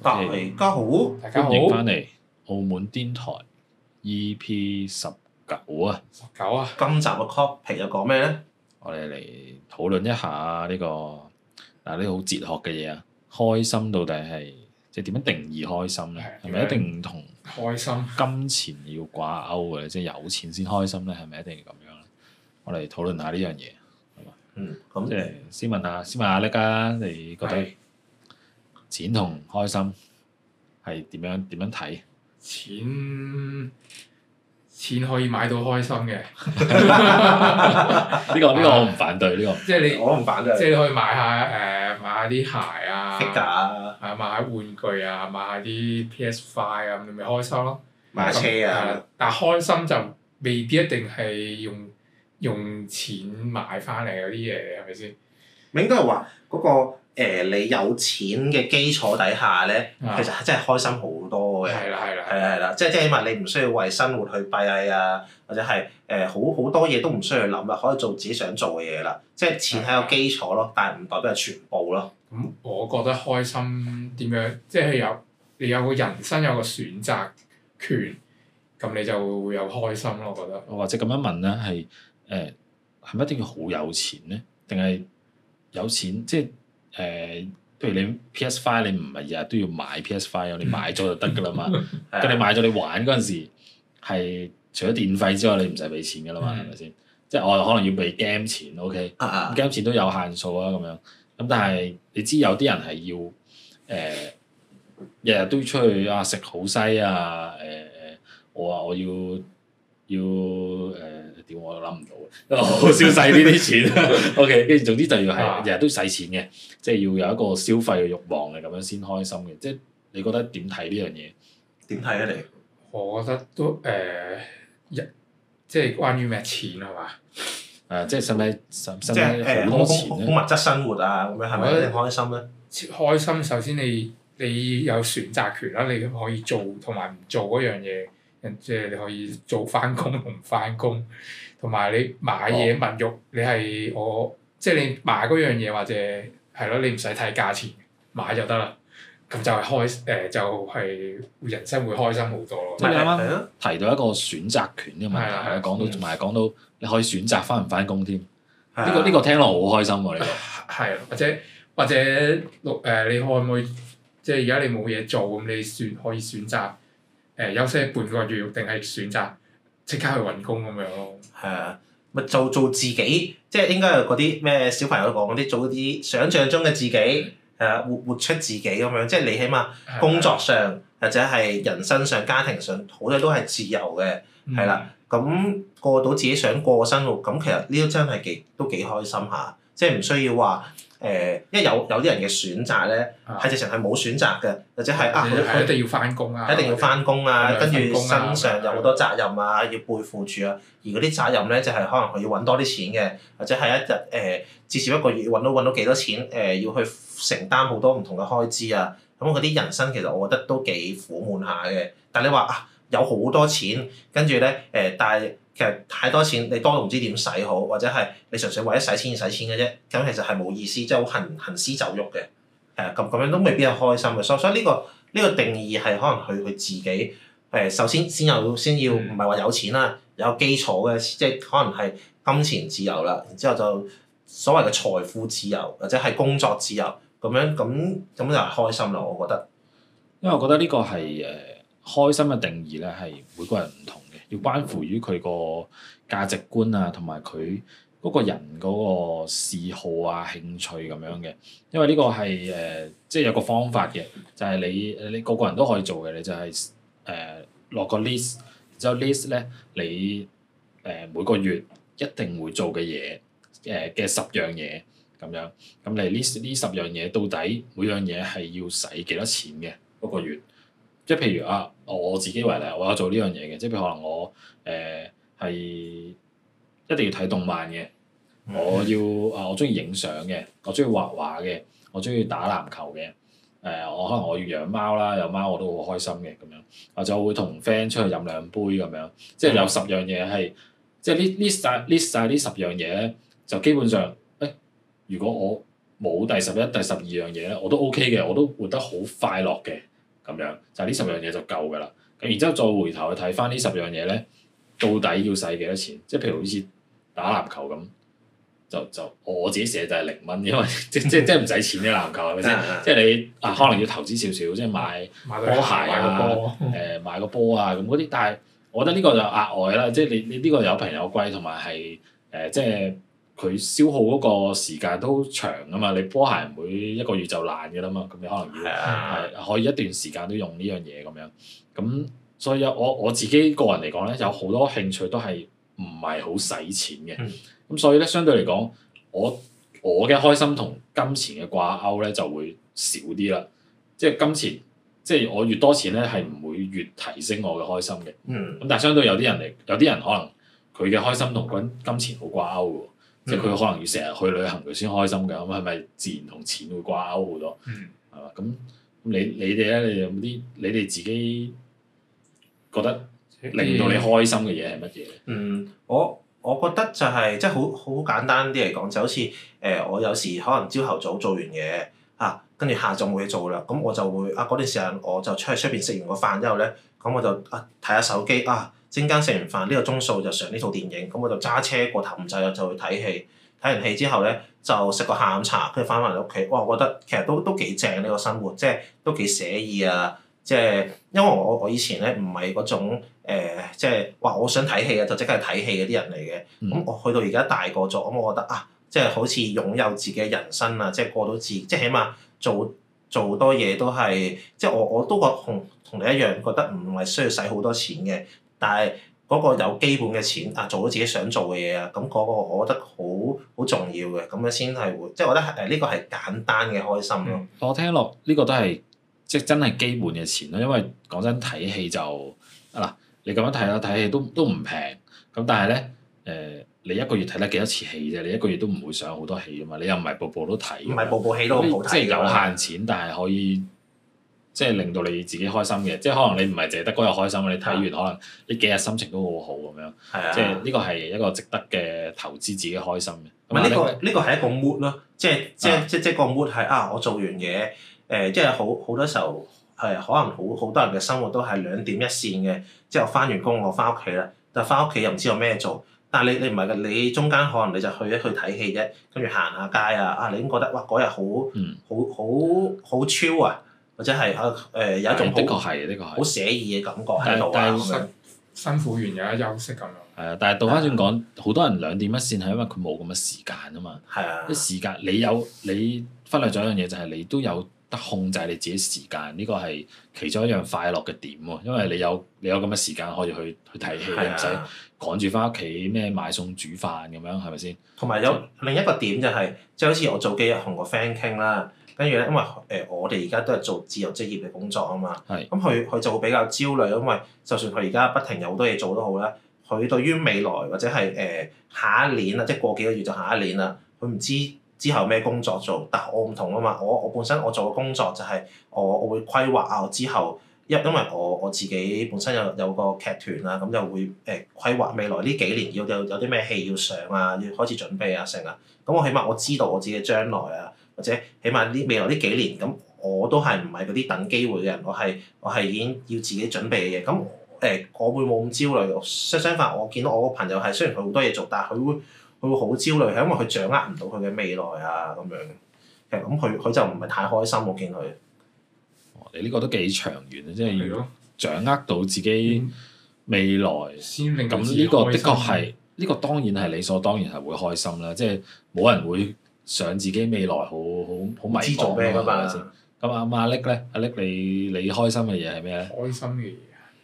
大家好， 歡迎翻嚟澳門電台 EP19啊 ！19啊！ 今集嘅 topic 又講咩咧？ 我哋嚟討論一下呢個呢個好哲學嘅嘢啊！開心到底係即係點樣定義開心咧？係咪一定同開心金錢要掛鈎嘅？即係有錢先開心咧？係咪一定要咁樣咧？我哋討論下呢樣嘢，係嘛？ 咁即係先問下叻啊！你覺得錢同開心係點樣睇？ 錢可以買到開心嘅。 呢個我唔反對呢個。 即係你， 我唔反對。 即係你可以買下啲鞋啊， 買下玩具啊，買下啲 PS5啊，咁你咪開心咯。 買車啊！ 但係開心就未必一定係用錢買翻嚟嗰啲嘢，係咪先？ 應該係話嗰個你有錢嘅基礎底下咧，其實係真係開心好多嘅。 係啦， 即係起碼你唔需要為生活去閉翳啊，或者係好多嘢都唔需要諗啦，可以做自己想做嘅嘢啦。即係錢係個基礎咯，但係唔代表係全部咯。 咁我覺得開心點樣？即係你有個人生有個選擇權，咁你就會有開心咯。我覺得。 或者咁樣問咧，係咪一定要好有錢咧？定係有錢即係譬如你 PS5 你唔係日日都要買 PS5，你買咗就得㗎啦嘛。咁你買咗你玩嗰陣時，係除咗電費之外，你唔使俾錢㗎啦嘛，係咪先？即係我可能要俾 game 錢 ，OK？game 錢都有限數啊，咁樣。咁但係你知有啲人係要日日都要出去食好西啊！我要點我都諗唔到啊！好消費呢啲錢，OK， 跟住總之就要係日日都使錢嘅，即係要有一個消費嘅慾望嘅，咁樣先開心嘅。即係你覺得點睇呢樣嘢？ 點睇啊你？ 我覺得都即係關於咩錢係嘛？ 即係使唔使好多錢咧？ 好物質生活啊，咁樣係咪一定開心咧？ 開心首先你有選擇權啦，你可以做同埋唔做嗰樣嘢。即係你可以做翻工同唔翻工，同埋你買嘢物慾，你係即係你買嗰樣嘢或者係咯，你唔使睇價錢，買就得啦。咁就係就係人生會開心好多咯。 即係你啱啱提到一個選擇權呢個問題，講到你可以選擇翻唔翻工添。呢個聽落好開心喎！呢個係或者你可唔可以即係而家你冇嘢做咁，你可以選擇。休息半個月，定係選擇即刻去揾工咁樣咯。 係啊，咪做自己，即係應該係嗰啲咩小朋友都講嗰啲，做啲想像中嘅自己，活出自己咁樣。即係你起碼工作上或者係人生上、家庭上，好多都係自由嘅，係啦。咁過到自己想過嘅生活，咁其實呢啲真係都幾開心下，即係唔需要話。因為有啲人嘅選擇咧，係直情係冇選擇嘅，或者係佢一定要翻工啊， 一定要翻工啊，跟住身上有好多責任啊，要背負住啊。而嗰啲責任咧，就係可能佢要揾多啲錢嘅，或者係一日至少一個月揾到幾多錢，要去承擔好多唔同嘅開支啊。咁嗰啲人生其實我覺得都幾苦悶下嘅。但係你話有好多錢，跟住咧但係。其實太多錢，你多到唔知點使好，或者係你純粹為咗使錢而使錢嘅啫，咁其實係冇意思，即係好行屍走肉嘅，咁樣都未必係開心嘅。所以呢個定義係可能佢自己首先要唔係話有錢啦，有基礎嘅，即係可能係金錢自由啦，然之後就所謂嘅財富自由或者係工作自由咁就係開心啦，我覺得。 因為我覺得呢個係開心嘅定義咧，係每個人唔同。要關乎於佢個價值觀啊，同埋佢嗰個人嗰個嗜好啊、興趣咁樣嘅。因為呢個係即係有個方法嘅，就係你個個人都可以做嘅。你就係落個 list，然之後 list 咧，你每個月一定會做嘅嘢嘅10樣嘢咁樣。咁你呢10樣嘢到底每樣嘢係要使幾多錢嘅嗰個月？即係譬如我自己為例，我有做呢樣嘢嘅，即係譬如可能我係一定要睇動漫嘅，我中意影相嘅，我中意畫畫嘅，我中意打籃球嘅，我可能我要養貓啦，有貓我都好開心嘅咁樣，或者我會同 friend 出去飲2杯咁樣，即係有10樣嘢係，即係list 曬呢10樣嘢咧，就基本上如果我冇第11、第12樣嘢咧，我都 OK 嘅，我都活得好快樂嘅。 咁樣，就係呢10樣嘢就夠㗎啦。咁然之後再回頭去睇翻呢10樣嘢咧，到底要使幾多錢？即係譬如好似打籃球咁。就我自己寫就係0蚊，因為即唔使錢嘅籃球係咪先？即係你可能要投資少少，即係買波鞋啊，買個波啊咁嗰啲。但係我覺得呢個就額外啦，即係你呢個有平有貴，同埋係即係佢消耗嗰個時間都長啊嘛。你波鞋唔會1個月就爛嘅啦嘛，咁你可能要可以一段時間都用呢樣嘢咁樣。咁所以我自己個人嚟講咧，有好多興趣都係唔係好使錢嘅。咁所以咧，相對嚟講，我嘅開心同金錢嘅掛鈎咧就會少啲啦。即係金錢，即係我越多錢咧，係唔會越提升我嘅開心嘅。咁但係相對有啲人可能佢嘅開心同金錢好掛鈎嘅喎，即係佢可能要成日去旅行佢先開心嘅。咁係咪自然同錢會掛鈎好多？係嘛？咁你哋咧，你有冇啲你哋自己覺得令到你開心嘅嘢係乜嘢？ 我覺得就係即係好簡單啲嚟講，就好似我有時可能朝頭早做完嘢跟住下晝冇嘢做啦，咁我就會嗰段時間我就出邊食完個飯之後咧，咁我就睇下手機陣間食完飯呢個鐘數就上呢套電影，咁我就揸車過頭唔滯就去睇戲，睇完戲之後咧就食個下午茶，跟住翻返嚟屋企，哇！我覺得其實都幾正呢個生活，即係都幾寫意啊！即係因為我以前咧唔係嗰種即係話我想睇戲就即刻去睇戲嗰啲人嚟嘅。咁我去到而家大個咗，咁我覺得即係好似擁有自己嘅人生啊，即係過到即係起碼做多嘢都係，即係我都同你一樣覺得唔係需要使好多錢嘅，但係嗰個有基本嘅錢做到自己想做嘅嘢啊，咁嗰個我覺得好重要嘅，咁樣先係會，即係我覺得呢個係簡單嘅開心咯。 我聽落呢個都係。即係真係基本嘅錢咯，因為講真睇戲就你咁樣睇啦，睇戲都唔平。咁但係咧你一個月睇得幾多次戲啫？你一個月都唔會上好多戲啊嘛。你又唔係部部都睇。唔係部部戲都好睇。即係有限錢，但係可以即係令到你自己開心嘅。即係可能你唔係淨係得嗰日開心，你睇完可能呢幾日心情都好好咁樣。即係呢個係一個值得嘅投資自己開心嘅。 唔係呢個係一個 mood 咯，即係個 mood 係我做完嘢。即係好多時候可能好多人嘅生活都係兩點一線嘅，即係我翻完工我翻屋企啦，但係翻屋企又唔知有咩做。但係你唔係㗎，你中間可能你就去睇戲啫，跟住行下街你已經覺得哇嗰日好 chill 啊，或者係有一種好寫意嘅感覺喺度咁樣。 辛苦完有得休息咁樣。 係啊，但係倒翻轉講，好多人兩點一線係因為佢冇咁嘅時間啊嘛。 係啊。 啲時間你忽略咗一樣嘢，就係你都有得控制你自己時間，呢個係其中一樣快樂嘅點喎。因為你有咁嘅時間可以去睇戲，你唔使趕住翻屋企買餸煮飯咁樣，係咪先？ 同埋有另一個點就係，即係好似我早幾日同個 friend 傾啦，跟住咧，因為我哋而家都係做自由職業嘅工作啊嘛。係。咁佢就會比較焦慮，因為就算佢而家不停有好多嘢做都好啦，佢對於未來或者係下一年啦，即係過幾個月就下一年啦，佢唔知之後咩工作做，但係我唔同啊嘛，我本身我做嘅工作就係我會規劃我之後，因為我自己本身有個劇團啦，咁就會規劃未來呢幾年有啲咩戲要上要開始準備成啊，咁我起碼我知道我自己嘅將來或者起碼未來呢幾年，咁我都係唔係嗰啲等機會嘅人，我係已經要自己準備嘅嘢，咁我會冇咁焦慮。相反，我見到我個朋友係雖然佢好多嘢做，但係佢會好焦慮，係因為佢掌握唔到佢嘅未來咁樣。其實咁佢就唔係太開心，我見佢。 你呢個都幾長遠啊！即係要掌握到自己未來，咁呢個的確係呢個當然係理所當然係會開心啦。即係冇人會想自己未來好迷茫㗎嘛，係咪先？咁阿叻咧，阿叻你開心嘅嘢係咩咧？ 開心嘅嘢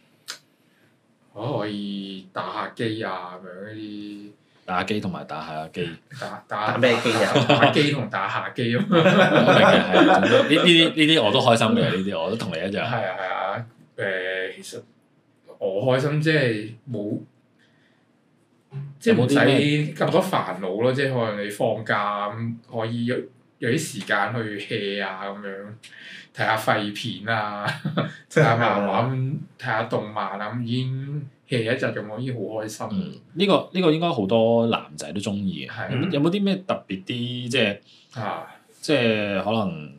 可以打下機咁樣嗰啲。 打機同埋打下機。 打咩機啊？ 打機同打下機咁。 我明嘅係，呢啲我都開心嘅，呢啲我都同你一樣。 係啊，其實我開心即係冇，即係唔使咁多煩惱咯。即係可能你放假咁可以有啲時間去 hea 咁樣，睇下廢片睇下漫畫睇下動漫咁已經 hea 一陣咁，我已經好開心。 呢個應該好多男仔都中意嘅。有冇啲咩特別啲即係可能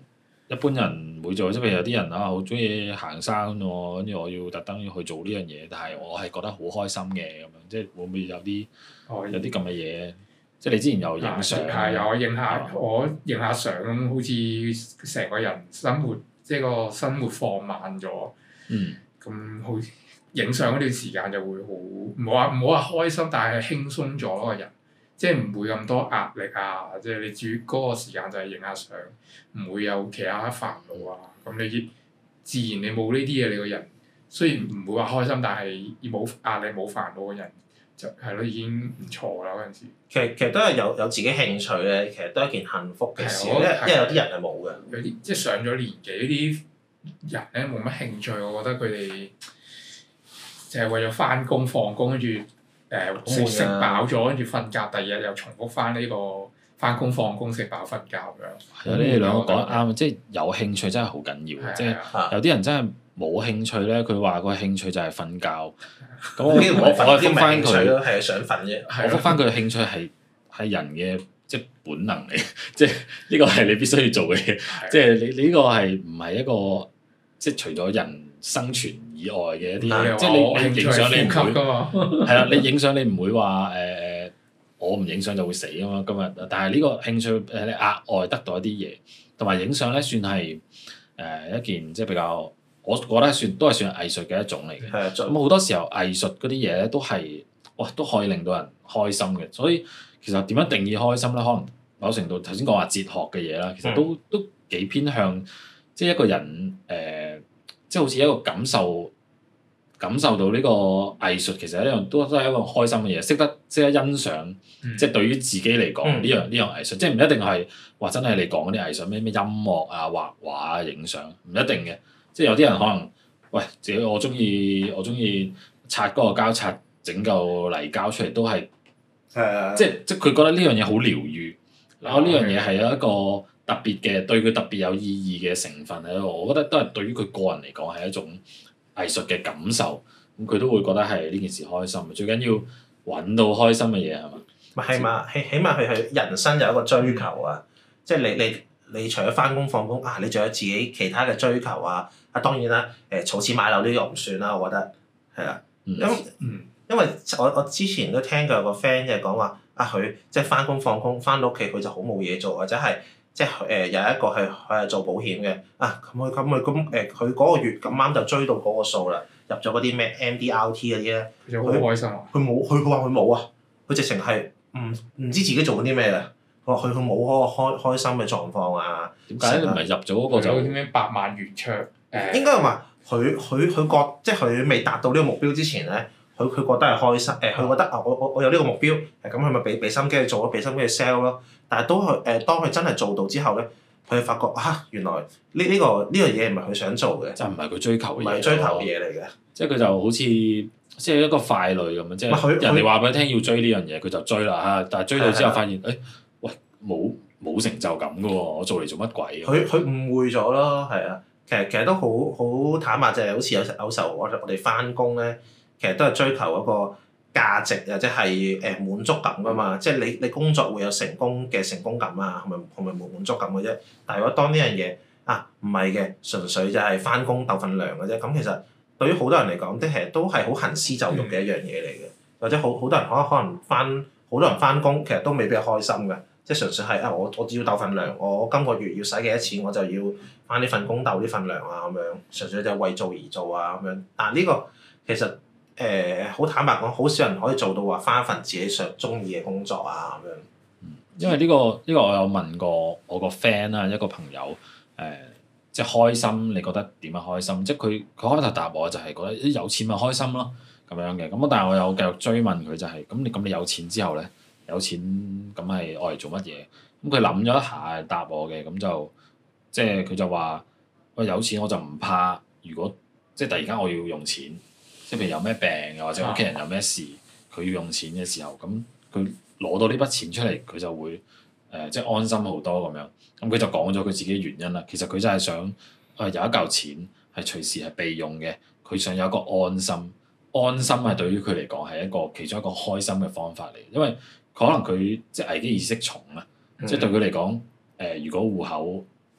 一般人唔會做，即係譬如有啲人啊，好中意行山喎，跟住我要特登要去做呢樣嘢，但係我係覺得好開心嘅咁樣，即係會唔會有啲咁嘅嘢？即係你之前有影相， 係有我影下相咁，好似成個人生活即係個生活放慢咗。咁好影相嗰段時間就會好唔好話開心，但係輕鬆咗咯個人，即係唔會咁多壓力啊！即係你主嗰個時間就係影下相，唔會有其他煩惱啊。咁你自然你冇呢啲嘢，你個人雖然唔會話開心，但係冇壓力冇煩惱嘅人就係咯，已經唔錯啦嗰陣時。 其實都係有自己興趣咧，其實都係一件幸福嘅事，因為有啲人係冇嘅。 有啲即係上咗年紀啲人咧冇乜興趣，我覺得佢哋就係為咗翻工放工，跟住食飽咗，跟住瞓覺，第二日又重複翻呢個翻工放工食飽瞓覺咁樣。 係啊，你哋兩個講得啱，即係有興趣真係好緊要，即係有啲人真係冇興趣咧，佢話個興趣就係瞓覺。咁我覆翻佢， 係想瞓啫。 我覆翻佢嘅興趣係人嘅即係本能嚟，即係呢個係你必須要做嘅嘢。即係你呢個係唔係一個即係除咗人生存以外嘅一啲，即係你影相你唔會係啦，你影相你唔會話我唔影相就會死啊嘛。今日但係呢個興趣你額外得到一啲嘢，同埋影相咧算係一件即係比較。我覺得都係算藝術嘅一種嚟嘅。咁好多時候藝術嗰啲嘢咧都係都可以令到人開心嘅。所以其實點樣定義開心咧？可能某程度頭先講話哲學嘅嘢啦，其實都幾偏向即係一個人即係好似一個感受到呢個藝術其實一樣都係一個開心嘅嘢，識得欣賞。即係對於自己嚟講呢樣藝術，即係唔一定係話真係你講嗰啲藝術咩音樂啊、畫畫啊、影相，唔一定嘅。即係有啲人可能，喂，自己我中意擦嗰個膠擦，整嚿泥膠出嚟都係，即係佢覺得呢樣嘢好療愈，然後呢樣嘢係有一個特別嘅對佢特別有意義嘅成分喺度，我覺得都係對於佢個人嚟講係一種藝術嘅感受，咁佢都會覺得係呢件事開心。最緊要揾到開心嘅嘢係嘛？ 係嘛？起碼佢係人生有一個追求啊！即係你除咗翻工放工啊，你仲有自己其他嘅追求啊！當然啦，儲錢買樓呢個唔算啦，我覺得係啊，因為我之前都聽過有個 friend 就係講話佢即係翻工放工翻到屋企佢就好冇嘢做，或者係即係有一個係做保險嘅咁佢嗰個月咁啱就追到嗰個數啦，入咗嗰啲咩 MDRT 嗰啲咧， 佢好開心啊！ 佢話佢冇啊，佢直情係唔知自己做緊啲咩嘅。佢冇嗰個開心嘅狀況啊？點解你唔係入咗嗰個就啲咩百萬圓桌？ 應該係話佢覺即係佢未達到呢個目標之前咧，佢覺得係開心。佢覺得我有呢個目標，咁佢咪俾心機去做咯，俾心機去 sell 咯。但係當佢真係做到之後咧，佢發覺原來呢個嘢唔係佢想做嘅， 就唔係佢追求嘅嘢， 唔係追求嘅嘢嚟嘅。 即係佢就好似即係一個傀儡咁樣，即係人哋話俾佢聽要追呢樣嘢，佢就追啦嚇。但係追到之後發現喂冇成就感嘅喎，我做嚟做乜鬼？ 佢誤會咗咯，係啊。其實都好坦白，就係好似有時候我哋翻工咧，其實都係追求嗰個價值或者係滿足感噶嘛。即係你工作會有成功感啊，係咪滿足感嘅啫？但係如果當呢樣嘢唔係嘅，純粹就係翻工鬥份糧嘅啫。咁其實對於好多人嚟講，其實都係好行屍走肉嘅一樣嘢嚟嘅。或者好多人可能好多人翻工，其實都未必係開心嘅。即係純粹係我只要鬥份糧，我今個月要使幾多錢，我就要翻呢份工鬥呢份糧啊咁樣，純粹就係為做而做啊咁樣。但係呢個其實好坦白講，好少人可以做到話翻一份自己中意嘅工作啊咁樣。 因為呢個我有問過我個 friend 啦，一個朋友即係開心，你覺得點樣開心？即係佢開頭答我就係覺得有錢咪開心咯咁樣嘅。咁但係我有繼續追問佢就係咁你有錢之後咧？有錢咁係愛嚟做乜嘢？咁佢諗咗一下答我嘅，咁就即係佢就話：我有錢我就唔怕，如果即係突然間我要用錢，即係譬如有咩病又或者屋企人有咩事，佢要用錢嘅時候，咁佢攞到呢筆錢出嚟，佢就會即係安心好多咁樣。咁佢就講咗佢自己嘅原因啦。其實佢就係想有一嚿錢係隨時係備用嘅，佢想有一個安心。安心係對於佢嚟講係一個其中一個開心嘅方法嚟，因為可能佢即係危機意識重啊，即係對佢嚟講，如果戶口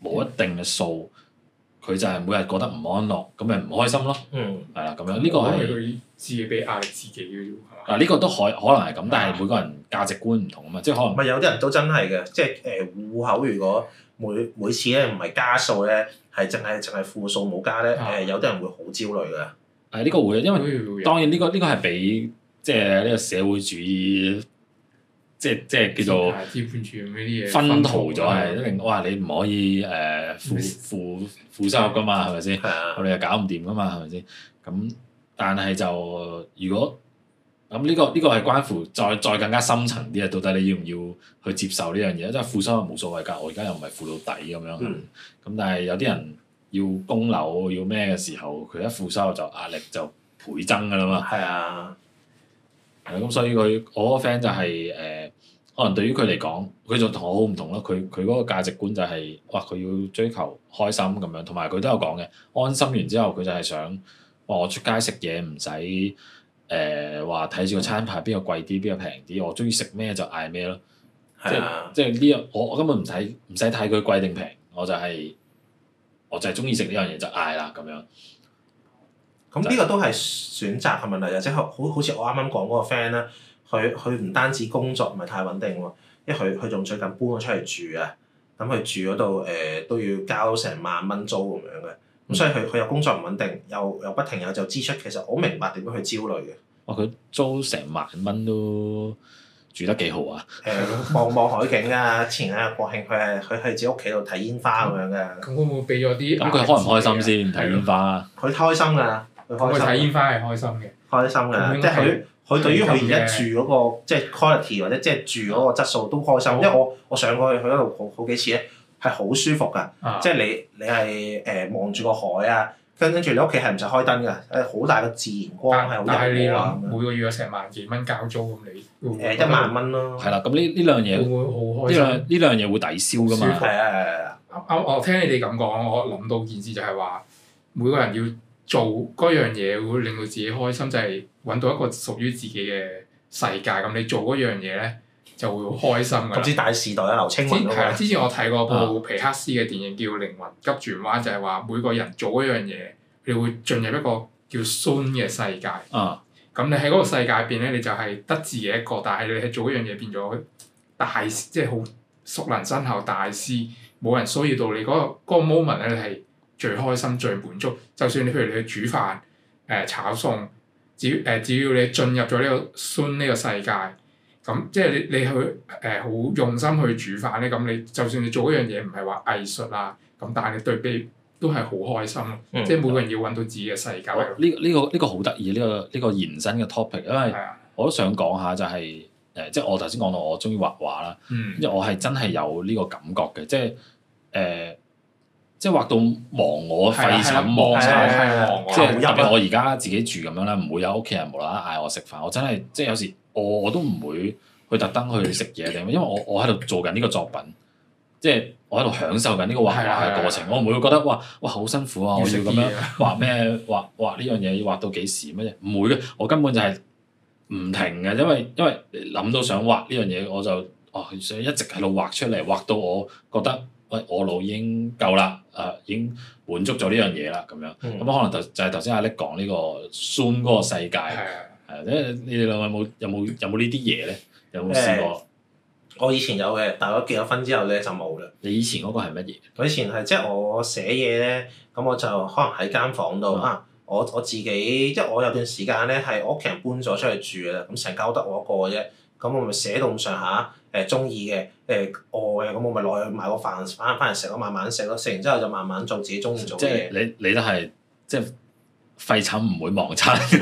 冇一定嘅數，佢就係每日過得唔安樂，咁咪唔開心咯。係啦，咁樣呢個係佢自己俾壓力自己嘅啫喎。 呢個都可能係咁，但係每個人價值觀唔同啊嘛，即係可能。 唔係有啲人都真係嘅，即係戶口如果每次咧唔係加數咧，係淨係負數冇加咧，有啲人會好焦慮㗎。 呢個會，因為當然呢個係俾即係呢個社會主義，即係叫做資本主義嗰啲嘢薰陶咗係，一定哇你唔可以負收入㗎嘛，係咪先？我哋又搞唔掂㗎嘛，係咪先？咁但係就如果咁呢個係關乎再更加深層啲啊，到底你要唔要去接受呢樣嘢？即係負收入冇所謂㗎，我而家又唔係負到底咁樣。咁但係有啲人要供樓要咩嘅時候，佢一負收入就壓力就倍增㗎啦嘛。 係啊。 咁所以我個 friend 就係可能對於佢嚟講，佢就同我好唔同咯。佢嗰個價值觀就係佢要追求開心咁樣，同埋佢都有講嘅，安心完之後佢就係想我出街食嘢唔使話睇住個餐牌邊個貴啲邊個平啲，我中意食咩就嗌咩咯。即係呢樣我根本唔使睇佢貴定平，我就係中意食呢樣嘢就嗌啦咁樣。 咁呢個都係選擇嘅問題，即係好似我啱啱講嗰個 friend 咧，佢唔單止工作唔係太穩定喎，因為佢仲最近搬咗出嚟住啊，咁佢住嗰度都要交成萬蚊租咁樣嘅，咁所以佢又工作唔穩定，又不停有就支出，其實我明白點樣去焦慮嘅。 佢租成萬蚊都住得幾好啊！ 望海景啊！前兩日國慶佢係自己屋企度睇煙花咁樣嘅。 咁會唔會俾咗啲？ 咁佢開唔開心先睇煙花？ 佢開心㗎， 佢睇煙花係開心嘅。 開心㗎，即係佢對於佢而家住嗰個即係 quality 或者即係住嗰個質素都開心，因為我上過去嗰度好幾次咧，係好舒服㗎，即係你係望住個海啊。跟住你屋企係唔使開燈㗎，好大個自然光係好柔和啊！ 每個月有成萬幾蚊交租咁，你 1萬蚊咯。 係啦，咁呢兩樣嘢會唔會好開心？ 呢兩樣嘢會抵消㗎嘛？ 係啊！ 我聽你哋咁講，我諗到件事就係話，每個人要做嗰樣嘢會令到自己開心，就係揾到一個屬於自己嘅世界。咁你做嗰樣嘢咧，就會好開心㗎。 咁似大時代啊，劉青雲係啊，之前我睇過部皮克斯嘅電影叫《靈魂急轉彎》，就係話每個人做嗰樣嘢，你會進入一個叫 Zone 嘅世界。咁你喺嗰個世界入邊咧，你就係得自己一個，但係你係做嗰樣嘢變咗大，即係好熟能生巧大師，冇人騷擾到你嗰個 moment 咧，你係最開心最滿足。就算你譬如你去煮飯、炒餸，只要你進入咗呢個 Zone 呢個世界。咁即係你去好用心去煮飯咧，咁你就算你做嗰樣嘢唔係話藝術啊，咁但係你對比都係好開心咯。即係每個人要揾到自己嘅世界。 呢個好得意，呢個延伸嘅 topic，因為我都想講下就係即係我頭先講到我中意畫畫啦，因為我係真係有呢個感覺嘅，即係即係畫到忘我廢寢忘餐，即係特別我而家自己住咁樣啦，唔會有屋企人無啦啦嗌我食飯，我真係即係有時。我都唔會去特登去食嘢定，因為我喺度做緊呢個作品，即係我喺度享受緊呢個畫畫嘅過程。我唔會覺得哇好辛苦啊！我要咁樣畫咩畫呢樣嘢要畫到幾時乜嘢？唔會嘅，我根本就係唔停嘅，因為諗到想畫呢樣嘢，我就想一直喺度畫出嚟，畫到我覺得我腦已經夠啦，已經滿足咗呢樣嘢啦咁樣。咁可能就係頭先阿力講呢個 Zone 嗰個世界。你哋兩位有冇呢啲嘢咧？有冇試過？ 我以前有嘅，但係我結咗婚之後咧就冇啦。 你以前嗰個係乜嘢？ 我以前係即係我寫嘢咧，咁我就可能喺間房度我自己即係我有段時間咧係我屋企人搬咗出去住啦，咁成間屋得我一個嘅啫，咁我咪寫到咁上下中意嘅餓嘅，咁我咪落去買個飯翻嚟食咯，慢慢食咯，食完之後就慢慢做自己中意做嘅嘢。 即係你都係即係。廢寢唔會忘餐， 應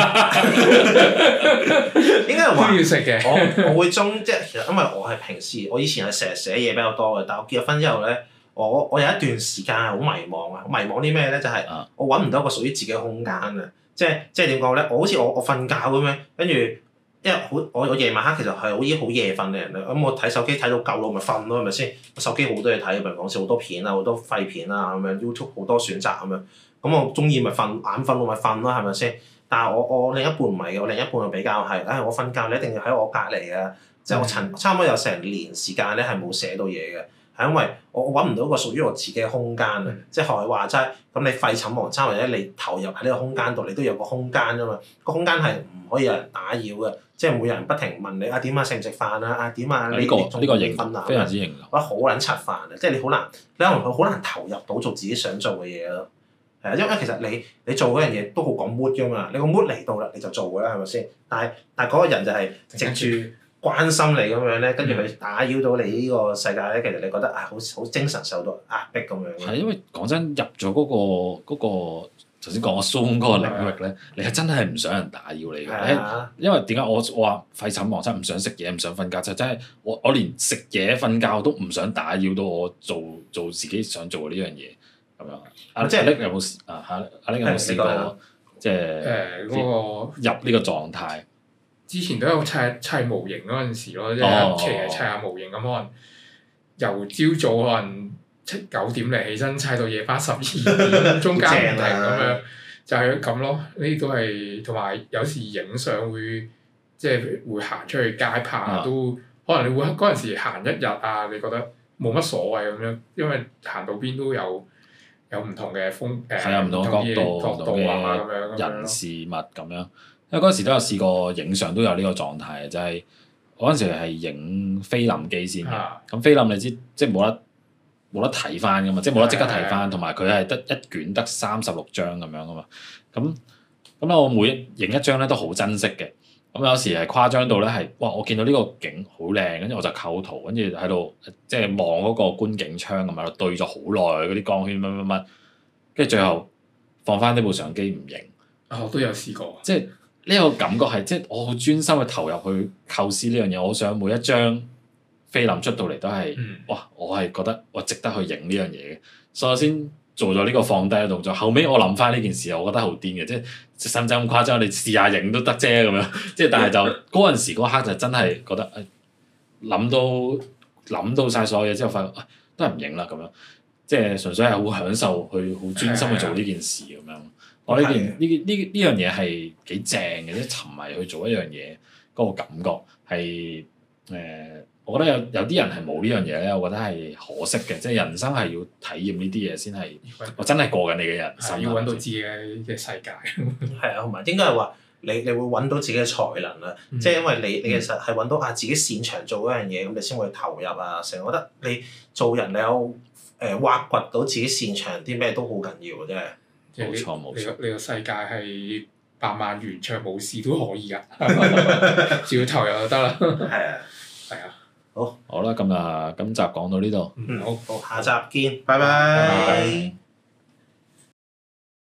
該係話都要食嘅。 我會即係其實因為我係平時我以前係成日寫嘢比較多嘅，但係我結咗婚之後咧，我有一段時間係好迷茫啊！迷茫啲咩咧？就係我揾唔到一個屬於自己嘅空間啊！即係點講咧？我好似我瞓覺咁樣，跟住因為我夜晚黑其實係好夜瞓嘅人啦，咁我睇手機睇到夠咯，咪瞓咯，係咪先？手機好多嘢睇，譬如講笑好多片啊，好多廢片啊咁樣 ，YouTube 好多選擇咁樣。咁我中意咪瞓，眼瞓我咪瞓咯，係咪先？但係我另一半唔係嘅，我另一半就比較係，我瞓覺你一定要喺我隔離啊！即係我差唔多有成年時間咧係冇寫到嘢嘅， 係因為我揾唔到一個屬於我自己嘅空間啊！即係學你話齋，咁你廢寢忘餐或者你投入喺呢個空間度，你都有個空間㗎嘛。個空間係唔可以有人打擾嘅，即係會有人不停問你啊點啊食唔食飯啊點啊你仲未瞓啊？ 非常之型， 我覺得好撚柒煩啊！即係你可能佢好難投入到做自己想做嘅嘢咯。係啊，因為其實你做嗰樣嘢都好講 mood 㗎嘛，你個 mood 嚟到啦你就做㗎啦，係咪先？但係嗰個人就係藉住關心你咁樣咧，跟住佢打擾到你呢個世界咧，其實你覺得好精神受到壓迫咁樣。 係因為講真，入咗嗰個頭先講我 Zoom 嗰個領域咧，你係真係唔想人打擾你嘅。因為點解我話廢寢忘餐唔想食嘢唔想瞓覺，就真係我連食嘢瞓覺都唔想打擾到我做自己想做嘅呢樣嘢咁樣。即係阿力有冇試啊？阿力有冇試過即係入呢個狀態？ 之前都有砌模型嗰陣時咯，即係一期係砌下模型咁，可能由朝早可能9點嚟起身，砌到夜晚12點，中間唔停咁樣，就係咁咯。呢啲都係同埋有時影相會即係會行出去街拍都，可能你會嗰陣時行一日啊，你覺得冇乜所謂咁樣，因為行到邊都有唔同嘅風唔同嘅角度啊，咁樣人事物咁樣。因為嗰陣時都有試過影相，都有呢個狀態，就係嗰陣時係影菲林機先嘅。咁菲林你知即係冇得睇翻噶嘛，即係冇得即刻睇翻，同埋佢係得一卷得36張咁樣噶嘛。咁咧我每影一張咧都好珍惜嘅。咁有時係誇張到咧係，哇！我見到呢個景好靚，跟住我就構圖，跟住喺度即係望嗰個觀景窗咁喺度對咗好耐嗰啲光圈乜，跟住最後放翻呢部相機唔影。 我都有試過。 即係。呢個感覺係即係我好專心去投入去構思呢樣嘢，我想每一張菲林出到嚟都係，哇！我係覺得我值得去影呢樣嘢嘅，所以我先做咗呢個放低嘅動作。後尾我諗翻呢件事，我覺得好癲嘅，即係使唔使咁誇張？你試下影都得啫咁樣，即係但係就嗰陣時嗰刻就真係覺得諗到晒所有嘢之後，發覺都係唔影啦咁樣，即係純粹係好享受去好專心去做呢件事咁樣。我呢樣嘢係幾正嘅，即係沉迷去做一樣嘢嗰個感覺係我覺得有啲人係冇呢樣嘢咧，我覺得係可惜嘅，即係人生係要體驗呢啲嘢先係，我真係過緊你嘅人生。 要揾到自己嘅世界。 係啊，同埋應該係話你會揾到自己嘅才能啦，即係因為你其實係揾到自己擅長做嗰樣嘢，咁你先會投入啊。成日覺得你做人你有挖掘到自己擅長啲咩都好緊要嘅，真係。 冇錯冇錯， 你個世界係100萬原唱武士都可以㗎，只要投入就得啦。係啊，好啦， 今集講到呢度。 好，下集見，拜拜。